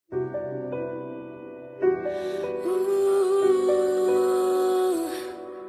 Ooh,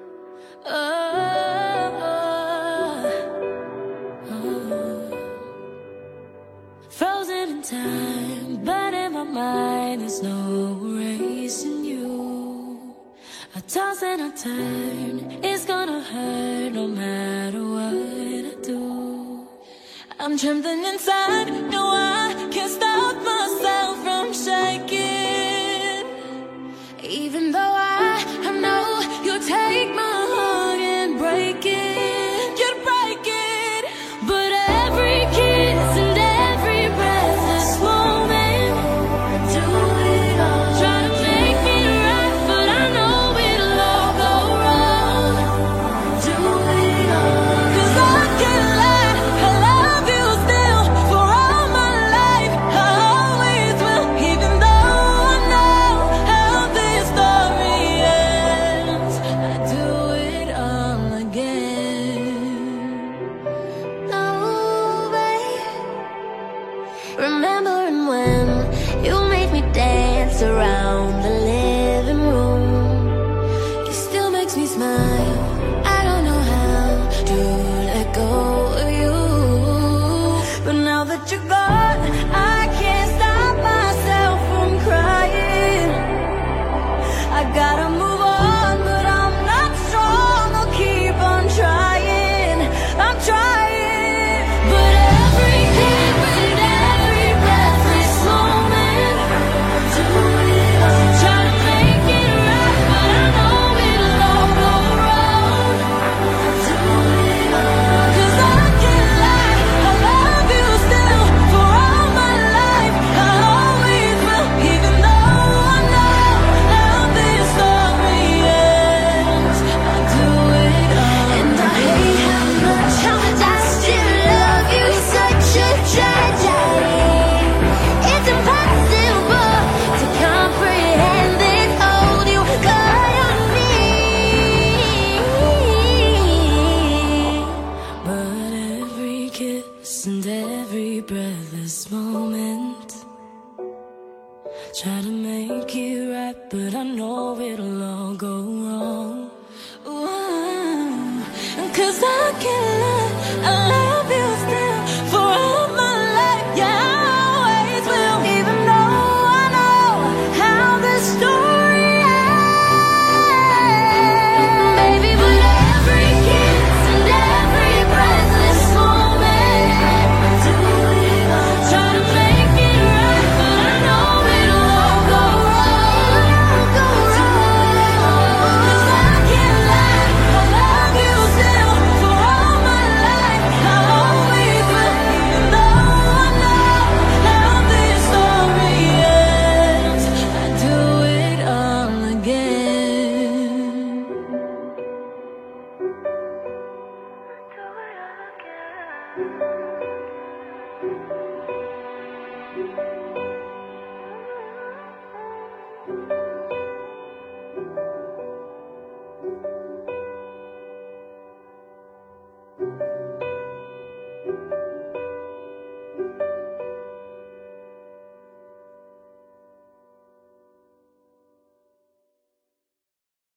Frozen in time, but in my mind there's no erasing you. I toss and I turn, it's gonna hurt no matter what I do. I'm trembling inside, no I can't stop myself from shaking. Even though I know you'll take my heart and break it, you'd break it. But every kiss and every breathless moment, do it all. Try to make me right, but I know it'll all go wrong. Do it all. 'Cause I can't lie, I love you still for all my life. I always will, even though I know how this story ends. I do it all again. No way. Remembering when you made me dance around the living room, it still makes me smile. I don't know how to let go of you, but now that you're gone, I can't stop myself from crying. I gotta move on, but I'm not strong. I'll keep on trying. I'm trying. But every kiss and every breathless moment, do it all. Try to make it right, but I know it'll all go wrong. Do it all. 'Cause I can't lie, I love you still for all my life. I always will, even though I know how this story ends. I do it all. And I hate how much I still love you. Such a tragedy. It's impossible to comprehend this. Hold you caught on me. But every kiss and every breathless moment, try to make it right, but I know it'll all go wrong. Ooh, 'cause I can't lie, I love you still for all my life. Yeah, I always will, even though I know how this story ends. Baby, but every kiss and every breathless moment, do it all. Try to make it right, but I know it'll all go wrong. Go wrong. 'Cause I can't lie, I love you still for all my life. I always will, even though I know how this story ends. I do it all again. Do it all again.